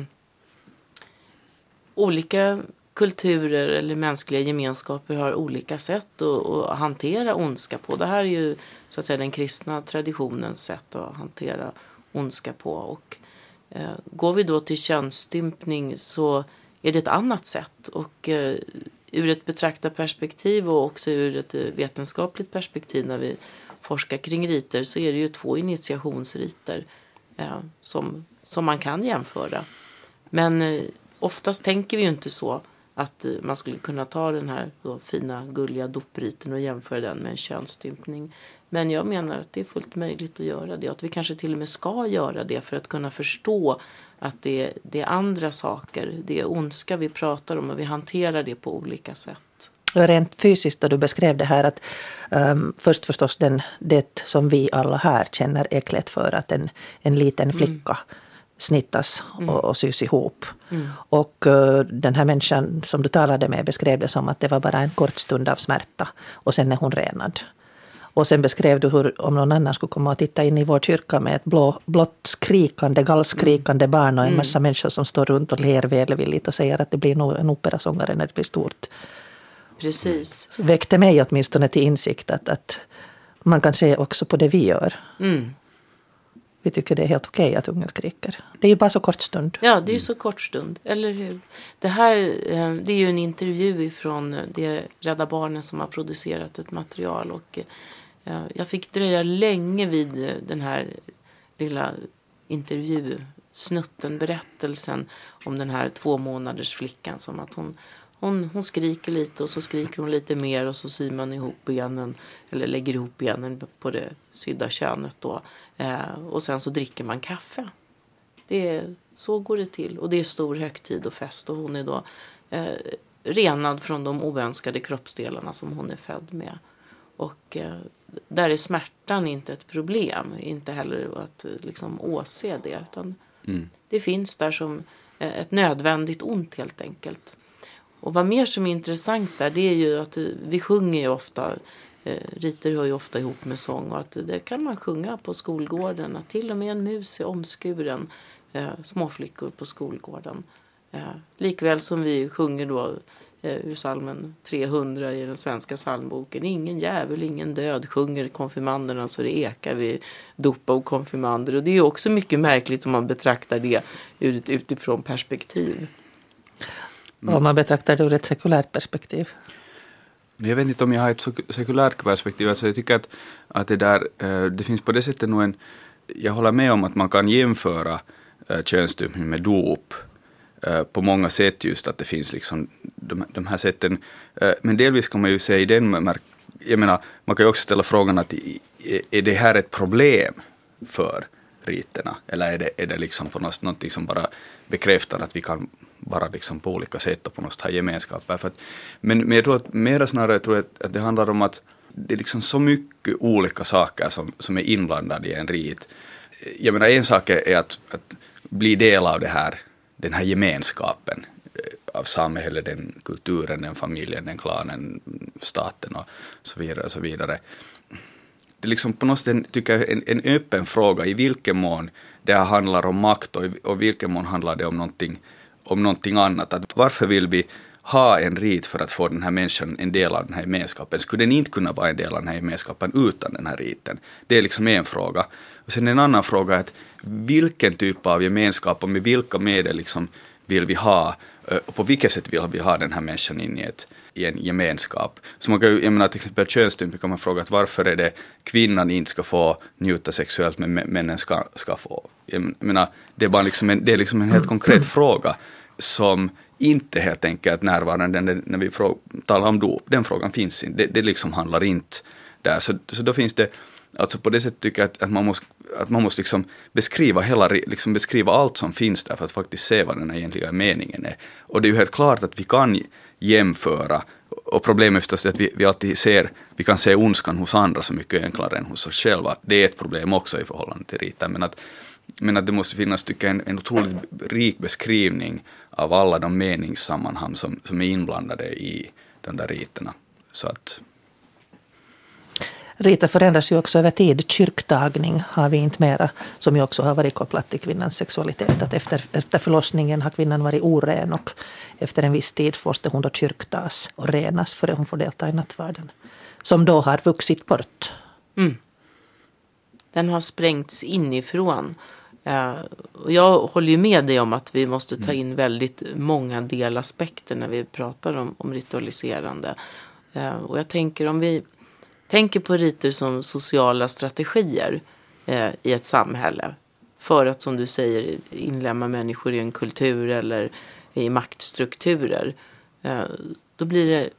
olika kulturer eller mänskliga gemenskaper har olika sätt att, att hantera ondska på. Det här är ju så att säga den kristna traditionens sätt att hantera ondska på. Och eh, går vi då till könsstympning så är det ett annat sätt. Och eh, ur ett betraktarperspektiv och också ur ett vetenskapligt perspektiv när vi forskar kring riter så är det ju två initiationsriter eh, som, som man kan jämföra. Men eh, oftast tänker vi ju inte så att eh, man skulle kunna ta den här då, fina gulliga dopriten och jämföra den med en könsstympning. Men jag menar att det är fullt möjligt att göra det. Att vi kanske till och med ska göra det för att kunna förstå att det, det är andra saker. Det är ondska vi pratar om och vi hanterar det på olika sätt. Rent fysiskt då du beskrev det här att um, först förstås den, det som vi alla här känner äcklet för att en, en liten flicka mm. snittas mm. och, och sys ihop. Mm. Och uh, den här människan som du talade med beskrev det som att det var bara en kort stund av smärta och sen är hon renad. Och sen beskrev du hur om någon annan skulle komma och titta in i vår kyrka med ett blå, blått skrikande, gallskrikande mm. barn och en massa mm. människor som står runt och ler välvilligt och säger att det blir nog en operasångare när det blir stort. Precis. Väckte mig åtminstone till insikt att, att man kan se också på det vi gör. Mm. Vi tycker det är helt okej att unga skriker. Det är ju bara så kort stund. Ja, det är ju så kort stund, eller hur? Det här det är ju en intervju från det Rädda Barnen som har producerat ett material och jag fick dröja länge vid den här lilla intervjusnutten, berättelsen om den här två månaders flickan som att hon, hon, hon skriker lite och så skriker hon lite mer och så syr man ihop benen eller lägger ihop benen på det sydda könet då. Eh, och sen så dricker man kaffe. Det är, så går det till och det är stor högtid och fest och hon är då eh, renad från de oönskade kroppsdelarna som hon är född med. Och eh, där är smärtan inte ett problem, inte heller att liksom åse det utan mm. det finns där som eh, ett nödvändigt ont helt enkelt. Och vad mer som är intressant där det är ju att vi sjunger ju ofta, eh, riter hör ju ofta ihop med sång och att det kan man sjunga på skolgården, att till och med en mus är omskuren, eh, småflickor på skolgården. Eh, likväl som vi sjunger då ur salmen trehundra i den svenska psalmboken. Ingen jävel, ingen död sjunger konfirmanderna så det ekar vid dopa och konfirmander. Och det är också mycket märkligt om man betraktar det ur ett utifrån perspektiv. Mm. Om man betraktar det ur ett sekulärt perspektiv. Jag vet inte om jag har ett sekulärt perspektiv. Alltså jag tycker att, att det där, det finns på det sättet nog en, jag håller med om att man kan jämföra könsstympning med dop på många sätt just att det finns liksom de, de här sätten. Men delvis kan man ju säga i den, jag menar, man kan ju också ställa frågan att är det här ett problem för riterna? Eller är det, är det liksom på något, något som bara bekräftar att vi kan vara liksom på olika sätt och på något sätt ha gemenskaper? För att, men, men jag tror att mera snarare tror jag att, att det handlar om att det är liksom så mycket olika saker som, som är inblandade i en rit. jag menar en sak är att, att bli del av det här, den här gemenskapen av samhället, den kulturen, den familjen, den klanen, staten och så vidare och så vidare. Det är liksom på något sätt tycker jag en, en öppen fråga i vilken mån det handlar om makt och i och vilken mån handlar det om någonting, om någonting annat. Att varför vill vi ha en rit för att få den här människan en del av den här gemenskapen? Skulle den inte kunna vara en del av den här gemenskapen utan den här riten? Det är liksom en fråga. Och sen en annan fråga är att vilken typ av gemenskap och med vilka medel liksom vill vi ha och på vilket sätt vill vi ha den här människan in i, ett, i en gemenskap. Så man kan ju, jag menar till exempel könsstympning kan man fråga att varför är det kvinnan inte ska få njuta sexuellt men männen ska, ska få. Jag menar, det är bara liksom en, det är liksom en helt konkret fråga som inte helt enkelt närvarande när vi frå, talar om dop. Den frågan finns inte. Det, det liksom handlar inte där. Så, så då finns det, alltså på det sättet tycker jag att, att man måste, att man måste liksom beskriva, hela, liksom beskriva allt som finns där för att faktiskt se vad den egentliga meningen är. Och det är ju helt klart att vi kan jämföra, och problemet är förstås att vi, vi alltid ser, vi kan se ondskan hos andra så mycket enklare än hos oss själva. Det är ett problem också i förhållande till riten, men att Men att det måste finnas tycker jag, en, en otroligt rik beskrivning av alla de meningssammanhang som, som är inblandade i de där riterna. Så att... Riter förändras ju också över tid. Kyrktagning har vi inte mera, som ju också har varit kopplat till kvinnans sexualitet. Att efter, efter förlossningen har kvinnan varit oren och efter en viss tid måste hon då kyrktas och renas för att hon får delta i nattvarden. Som då har vuxit bort. Mm. Den har sprängts inifrån. Uh, och jag håller ju med dig om att vi måste ta in väldigt många delaspekter när vi pratar om, om ritualiserande. Uh, och jag tänker om vi tänker på riter som sociala strategier uh, i ett samhälle. För att som du säger inlämna människor i en kultur eller i maktstrukturer. Uh, då blir det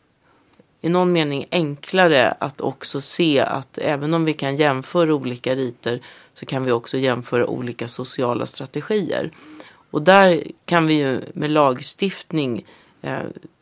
i någon mening enklare att också se att även om vi kan jämföra olika riter så kan vi också jämföra olika sociala strategier. Och där kan vi ju med lagstiftning eh,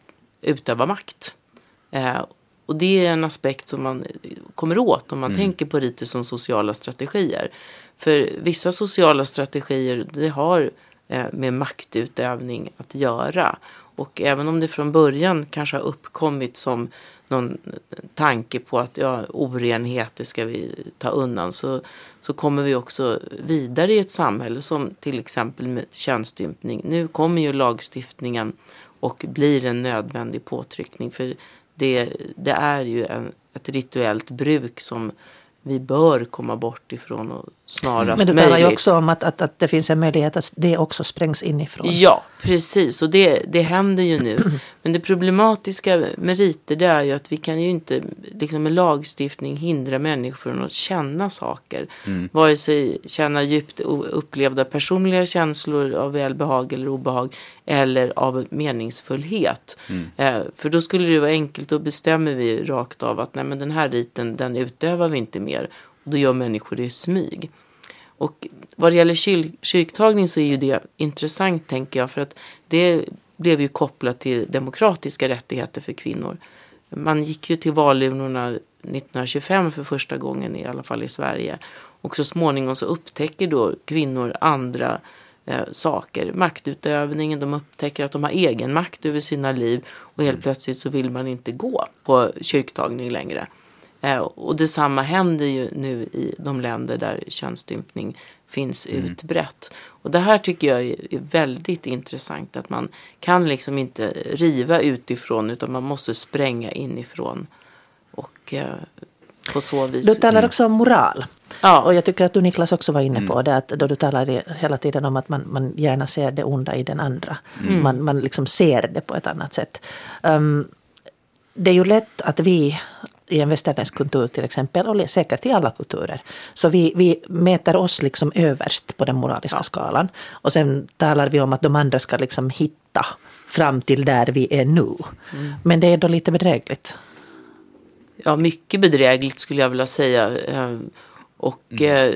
utöva makt. Eh, och det är en aspekt som man kommer åt om man mm. tänker på riter som sociala strategier. För vissa sociala strategier det har eh, med maktutövning att göra. Och även om det från början kanske har uppkommit som någon tanke på att ja, orenheter ska vi ta undan så, så kommer vi också vidare i ett samhälle som till exempel med könsstympning. Nu kommer ju lagstiftningen och blir en nödvändig påtryckning för det, det är ju en, ett rituellt bruk som vi bör komma bort ifrån och snarast möjligt. Men du talar ju också om att, att, att det finns en möjlighet att det också sprängs inifrån. Ja, precis. Och det, det händer ju nu. Men det problematiska med riter det är ju att vi kan ju inte liksom med lagstiftning hindra människor från att känna saker. Mm. Vare sig känna djupt upplevda personliga känslor av välbehag eller obehag eller av meningsfullhet. Mm. Eh, för då skulle det vara enkelt, då bestämmer vi rakt av att nej, men den här riten den utövar vi inte mer. Och då gör människor det i smyg. Och vad det gäller kyr- kyrktagning så är ju det intressant tänker jag. För att det blev ju kopplat till demokratiska rättigheter för kvinnor. Man gick ju till valurnorna nittonhundratjugofem för första gången i alla fall i Sverige. Och så småningom så upptäcker då kvinnor andra eh, saker. Maktutövningen, de upptäcker att de har egen makt över sina liv. Och helt plötsligt så vill man inte gå på kyrktagning längre. Och detsamma händer ju nu i de länder där könsstympning finns mm. utbrett. Och det här tycker jag är väldigt intressant. Att man kan liksom inte riva utifrån utan man måste spränga inifrån. Och eh, på så vis... Du talar också om moral. Ja. Och jag tycker att du Niklas också var inne på mm. det. Att då du talar hela tiden om att man, man gärna ser det onda i den andra. Mm. Man, man liksom ser det på ett annat sätt. Um, det är ju lätt att vi... i en västerländsk kultur till exempel, och säkert i alla kulturer. Så vi, vi mäter oss liksom överst på den moraliska ja. skalan. Och sen talar vi om att de andra ska liksom hitta fram till där vi är nu. Mm. Men det är då lite bedrägligt. Ja, mycket bedrägligt skulle jag vilja säga. Och mm. eh,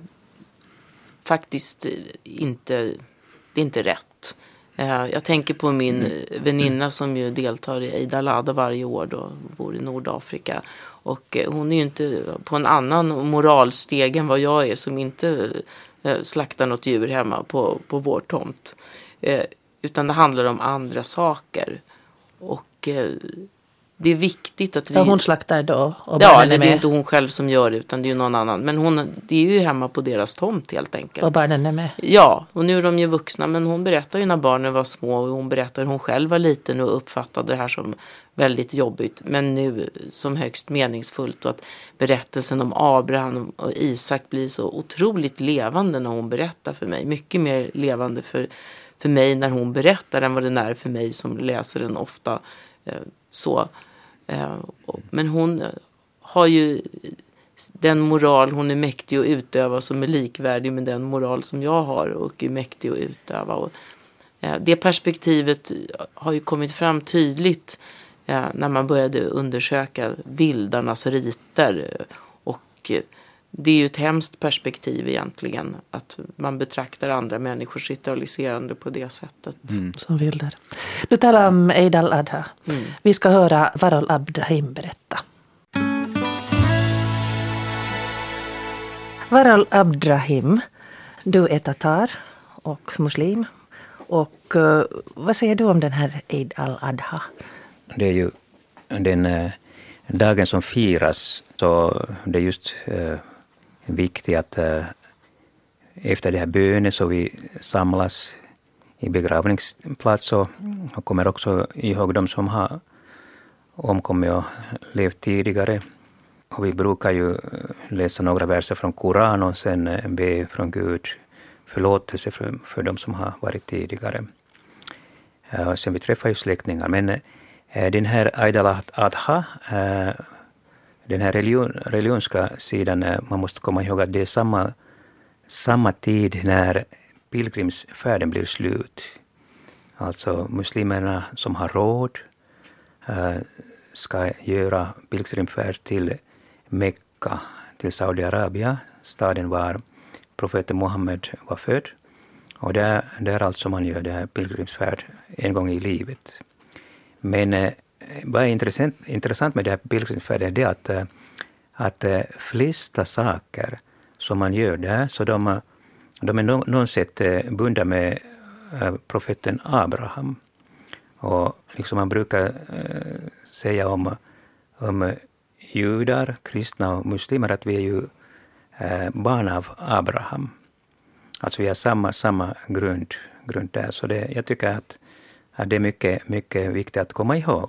faktiskt inte, det är inte rätt. Jag tänker på min väninna som ju deltar i Eid al-Adha varje år då, bor i Nordafrika. Och hon är ju inte på en annan moralsteg än vad jag är som inte eh, slakta något djur hemma på, på vår tomt. Eh, utan det handlar om andra saker. Och eh, det är viktigt att vi... Ja, hon slaktar då och ja, barnen det är är med. inte hon själv som gör det, utan det är ju någon annan. Men hon, det är ju hemma på deras tomt helt enkelt. Och barnen är med. Ja, och nu är de ju vuxna, men hon berättar ju när barnen var små, och hon berättar hur hon själv var liten och uppfattade det här som väldigt jobbigt, men nu som högst meningsfullt, och att berättelsen om Abraham och Isak blir så otroligt levande när hon berättar för mig. Mycket mer levande för, för mig när hon berättar än vad den är för mig som läser den ofta. Eh, så. Eh, och, men hon har ju den moral hon är mäktig att utöva som är likvärdig med den moral som jag har och är mäktig att utöva. Och, eh, det perspektivet har ju kommit fram tydligt eh, när man började undersöka vildarnas riter. Och eh, det är ju ett hemskt perspektiv egentligen, att man betraktar andra människors ritualiserande på det sättet. Mm. Som vildar. Du talar om Eid al-Adha. Mm. Vi ska höra Varol Abdrahim berätta. Varol Abdrahim, du är tatar och muslim. Och uh, vad säger du om den här Eid al-Adha? Det är ju den eh, dagen som firas, så det är just eh, viktigt att eh, efter det här bönen så vi samlas i begravningsplats och, och kommer också ihåg de som har omkommit och levt tidigare. Och vi brukar ju läsa några verser från Koran och sen be från Gud förlåtelse för, för de som har varit tidigare. Uh, sen vi träffar ju släktingar. Men uh, den här Eid al-Adha, uh, den här religion, religionska sidan, uh, man måste komma ihåg att det är samma, samma tid när pilgrimsfärden blir slut. Alltså muslimerna som har råd uh, ska göra pilgrimsfärd till Mekka, till Saudiarabien, staden var profeten Muhammed var född. Och det är alltså man gör det här pilgrimsfärd en gång i livet. Men eh, vad är intressant, intressant med det här pilgrimsfärden är det att, eh, att eh, flesta saker som man gör där, så de, de är no, något sätt eh, bundna med eh, profeten Abraham. Och liksom man brukar eh, säga om, om judar, kristna och muslimer att vi är ju eh, barn av Abraham. Alltså vi har samma, samma grund, grund där. Så det, jag tycker att, att det är mycket, mycket viktigt att komma ihåg.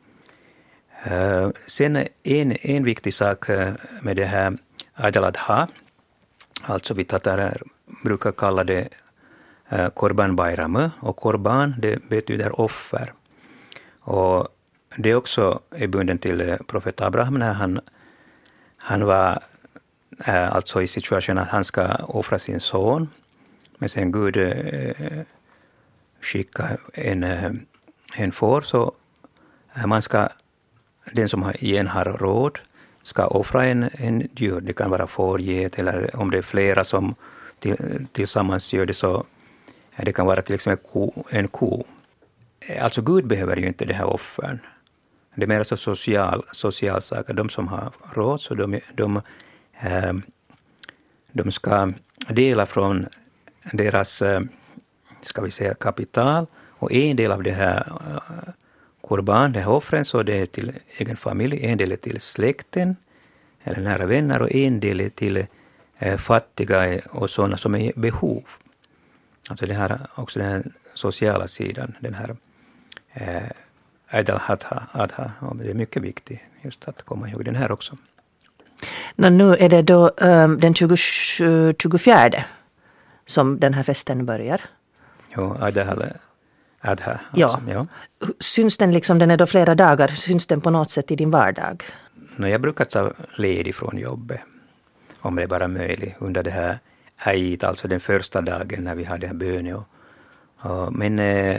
Uh, sen en, en viktig sak med det här Eid al-Adha, alltså vi tatarer brukar kalla det uh, Korban Bayram, och Korban det betyder offer. Och det också är bunden till profet Abraham när han, han var uh, alltså i situationen att han ska offra sin son. Men sen Gud uh, skickar en, uh, en får, så uh, man ska, den som igen har råd ska offra en, en djur. Det kan vara får, get, eller om det är flera som till, tillsammans gör det, så det kan vara till exempel ko, en ko. Alltså Gud behöver ju inte det här offern. Det är mer så social, social saker. De som har råd, så de, de, eh, de ska dela från deras, eh, ska vi säga, kapital. Och en del av det här eh, korban, det här offren, så det är till egen familj. En del är till släkten eller nära vänner, och en del är till eh, fattiga och sådana som är i behov. Alltså det här, också den här sociala sidan, den här eh, Eid al-Adha, det är mycket viktigt just att komma ihåg den här också. Nå, nu är det då um, den tjugofjärde tjugofjärde som den här festen börjar. Jo, Eid al-Adha. Alltså, ja. ja. Syns den liksom, den är då flera dagar, syns den på något sätt i din vardag? No, jag brukar ta ledig från jobbet, om det är bara möjligt, under det här Eid, alltså den första dagen när vi hade här bönen. Och, och, men äh,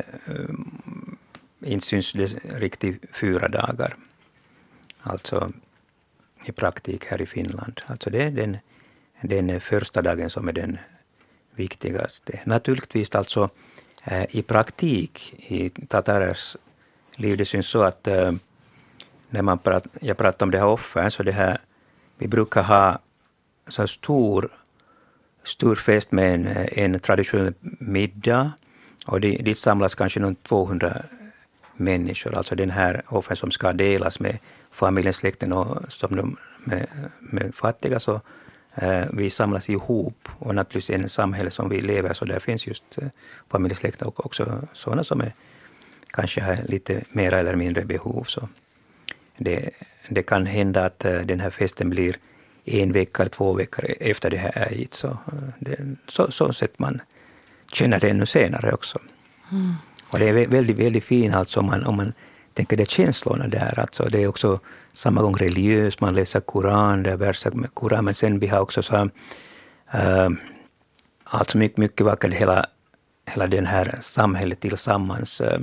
inte syns det riktigt fyra dagar. Alltså i praktik här i Finland. Alltså det är den, den första dagen som är den viktigaste. Naturligtvis alltså äh, i praktik i tatarers liv, det syns så att äh, när man prat, jag pratar om det här offern, så det här, vi brukar ha så stor stor fest med en, en traditionell middag. Och dit samlas kanske någon tvåhundra människor. Alltså den här offren som ska delas med familjen, släkten och som de, med, med fattiga. Så eh, vi samlas ihop. Och naturligtvis i en samhälle som vi lever så där finns just eh, familjesläkten och också sådana som är, kanske har lite mer eller mindre behov. Så det, det kan hända att eh, den här festen blir en vecka eller två veckor efter det här är hit. Så, det, så, så sätt man känner det ännu senare också. Mm. Och det är väldigt, väldigt fint alltså om man, om man tänker det känslorna där. Alltså det är också samma gång religiöst, man läser Koran, det är verser med Koran, men sen vi har också så äh, alltså mycket, mycket vackert hela, hela den här samhället tillsammans. Äh,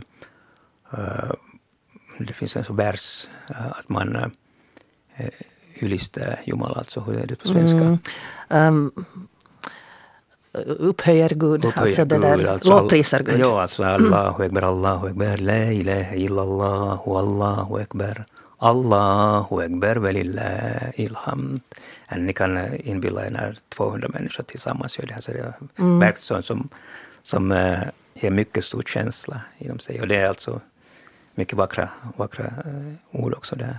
det finns en så vers äh, att man äh, ylistar Jumala, alltså hur är det på svenska? Mm. Um. upphöjer Gud, upphöjer alltså det där, alltså, lovprisar Gud. Ja, alltså Allahu Ekber, Allahu Ekber, la ilaha illallah, Allahu Ekber, Allahu Ekber, velillahi ilhamd. Ni kan inbilla er när tvåhundra människor tillsammans gör det här, så det är mm. verkligen som, som uh, ger mycket stor känsla inom sig. Och det är alltså mycket vackra, vackra uh, ord också där.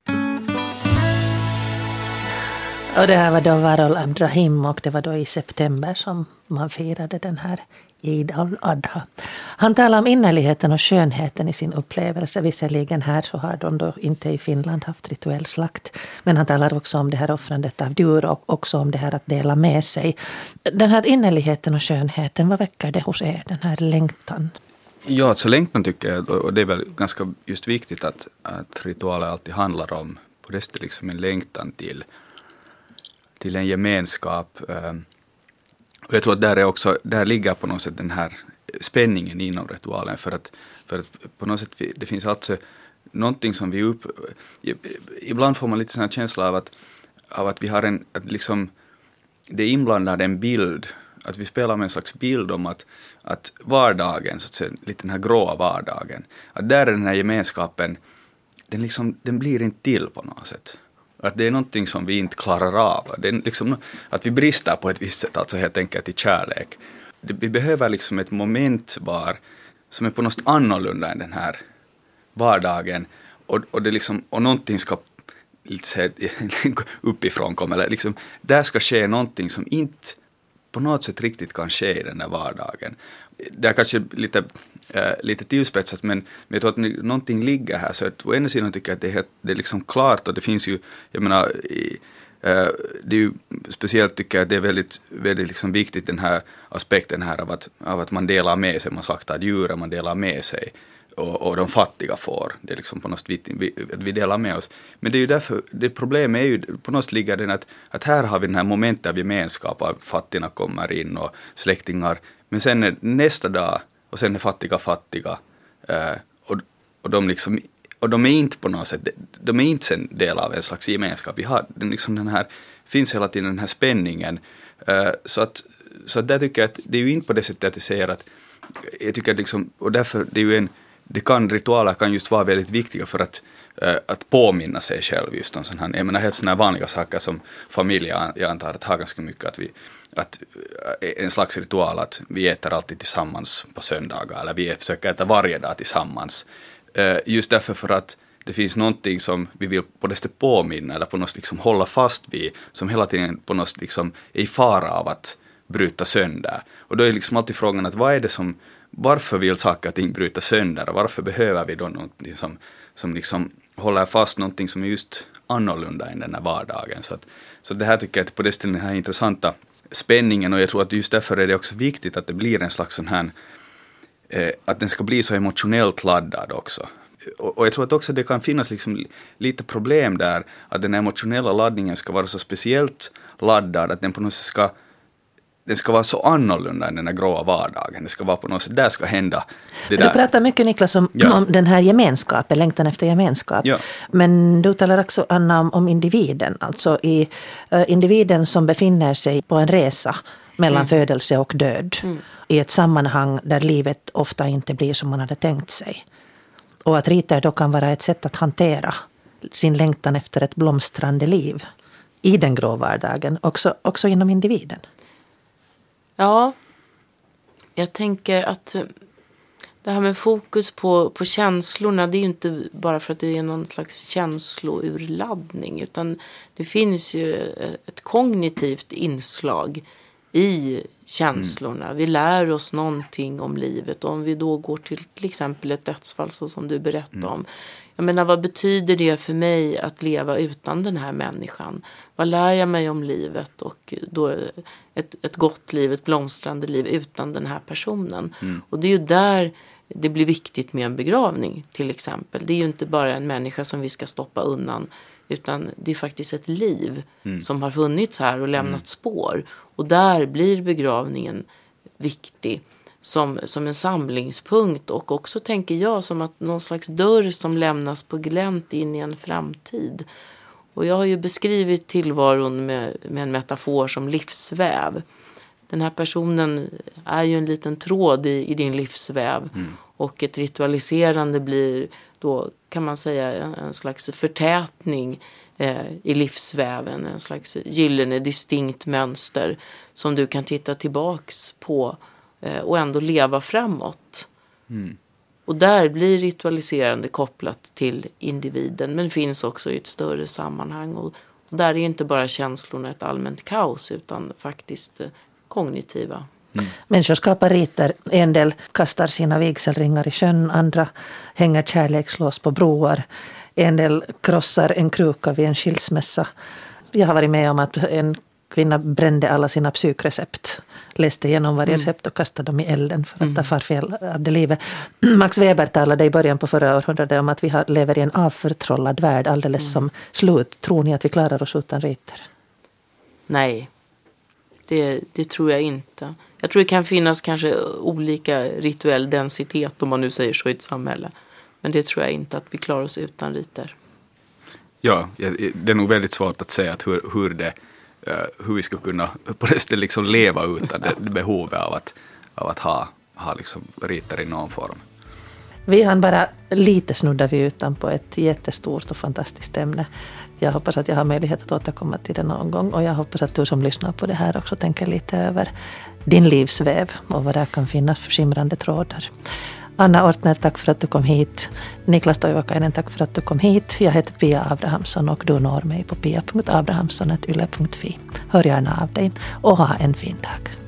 Och det här var då Varol Abdrahim och det var då i september som man firade den här Eid al-Adha. Han talar om innerligheten och skönheten i sin upplevelse. Visserligen här så har de då inte i Finland haft rituell slakt. Men han talar också om det här offrandet av djur och också om det här att dela med sig. Den här innerligheten och skönheten, vad väcker det hos er, den här längtan? Ja, alltså längtan tycker jag, och det är väl ganska just viktigt att, att ritualer alltid handlar om på det stället liksom en längtan till till en gemenskap. Och jag tror att där, är också, där ligger på något sätt den här spänningen inom ritualen. För att, för att på något sätt det finns alltså någonting som vi upp... Ibland får man lite sån här känsla av att, av att vi har en... Att liksom, det inblandar en bild. Att vi spelar med en slags bild om att, att vardagen, så att säga, lite den här gråa vardagen. Att där är den här gemenskapen, den, liksom, den blir inte till på något sätt. Att det är någonting som vi inte klarar av. Det är liksom, att vi brister på ett visst sätt, alltså helt enkelt i kärlek. Det, vi behöver liksom ett moment var som är på något annorlunda än den här vardagen. Och, och, det liksom, och någonting ska lite uppifrån komma. Eller liksom, där ska ske någonting som inte på något sätt riktigt kan ske i den här vardagen. Det är kanske lite, äh, lite tillspetsat, men, men jag tror att någonting ligger här. Så att å ena sidan tycker jag att det är, helt, det är liksom klart, och det finns ju, jag menar, i, äh, det är ju speciellt tycker jag att det är väldigt, väldigt liksom viktigt den här aspekten här av att, av att man delar med sig, man slaktar djur, man delar med sig. Och, och de fattiga får, det är liksom på något sätt vi, att vi delar med oss. Men det är ju därför, det problemet är ju, på något sätt ligger den att, att här har vi den här momentet av gemenskap, av fattiga kommer in och släktingar. Men sen är nästa dag, och sen är fattiga fattiga. Eh, och, och, de liksom, och de är inte på något sätt, de är inte en del av en slags gemenskap. Vi har den, liksom den här, finns hela tiden den här spänningen. Eh, så att, så att där tycker jag att det är ju inte på det sättet att jag säger att, jag tycker att liksom, och därför det är ju en, det kan, ritualer kan just vara väldigt viktiga för att, äh, att påminna sig själv just om sådana här, jag menar helt sådana här vanliga saker som familj, jag antar att har ganska mycket att vi, att äh, en slags ritual att vi äter alltid tillsammans på söndagar eller vi försöker äta varje dag tillsammans. Äh, just därför för att det finns någonting som vi vill på det sättet påminna eller på något liksom hålla fast vid som hela tiden på något liksom är i fara av att bryta sönder. Och då är liksom alltid frågan att vad är det som varför vill saker och ting bryta sönder och varför behöver vi då någonting som, som liksom håller fast någonting som är just annorlunda än den här vardagen. Så, att, så det här tycker jag att på det stället den här intressanta spänningen, och jag tror att just därför är det också viktigt att det blir en slags sån här, eh, att den ska bli så emotionellt laddad också. Och, och jag tror att också det kan finnas liksom lite problem där, att den emotionella laddningen ska vara så speciellt laddad att den på något sätt ska det ska vara så annorlunda än den här gråa vardagen. Det ska vara på något sätt, där ska hända det där. Du pratar mycket, Niklas, om, ja. om den här gemenskapen, längtan efter gemenskap. Ja. Men du talar också, Anna, om, om individen. Alltså i, uh, individen som befinner sig på en resa mellan mm. födelse och död. Mm. I ett sammanhang där livet ofta inte blir som man hade tänkt sig. Och att riter då kan vara ett sätt att hantera sin längtan efter ett blomstrande liv i den grå vardagen. Också, också inom individen. Ja, jag tänker att det här med fokus på, på känslorna, det är ju inte bara för att det är någon slags känslourladdning, utan det finns ju ett kognitivt inslag i känslorna. Mm. Vi lär oss någonting om livet. Om vi då går till till exempel ett dödsfall så som du berättade mm. om. Jag menar, vad betyder det för mig att leva utan den här människan? Vad lär jag mig om livet och då ett, ett gott liv, ett blomstrande liv utan den här personen? Mm. Och det är ju där det blir viktigt med en begravning till exempel. Det är ju inte bara en människa som vi ska stoppa undan, utan det är faktiskt ett liv mm. som har funnits här och lämnat mm. spår. Och där blir begravningen viktig som, som en samlingspunkt. Och också tänker jag som att någon slags dörr som lämnas på glänt in i en framtid. Och jag har ju beskrivit tillvaron med, med en metafor som livsväv. Den här personen är ju en liten tråd i, i din livsväv. Mm. Och ett ritualiserande blir då, kan man säga, en, en slags förtätning eh, i livsväven. En slags gyllene distinkt mönster som du kan titta tillbaks på eh, och ändå leva framåt. Mm. Och där blir ritualiserande kopplat till individen, men finns också i ett större sammanhang. Och, och där är inte bara känslorna ett allmänt kaos, utan faktiskt eh, kognitiva. Mm. Människor skapar riter. En del kastar sina vigselringar i sjön, andra hänger kärlekslås på broar. En del krossar en kruka vid en skilsmässa. Jag har varit med om att en kvinna brände alla sina psykrecept. Läste igenom varje recept och kastade dem i elden för att mm. ta farfel av det livet. Max Weber talade i början på förra århundradet om att vi har, lever i en avförtrollad värld alldeles mm. som slut. Tror ni att vi klarar oss utan riter? Nej, det, det tror jag inte. Jag tror det kan finnas kanske olika rituell densitet, om man nu säger så, i ett samhälle. Men det tror jag inte att vi klarar oss utan riter. Ja, det är nog väldigt svårt att säga att hur, hur, det, hur vi ska kunna på det stället liksom leva utan det, det behovet av att, av att ha, ha liksom riter i någon form. Vi hann bara lite snudda vi utan på ett jättestort och fantastiskt ämne. Jag hoppas att jag har möjlighet att återkomma till det någon gång. Och jag hoppas att du som lyssnar på det här också tänker lite över din livsväv och vad där kan finnas för skimrande trådar. Anna Ortner, tack för att du kom hit. Niklas Toivokainen, tack för att du kom hit. Jag heter Pia Abrahamsson och du når mig på pia punkt abrahamsson snabel-a yle punkt fi. Hör gärna av dig och ha en fin dag.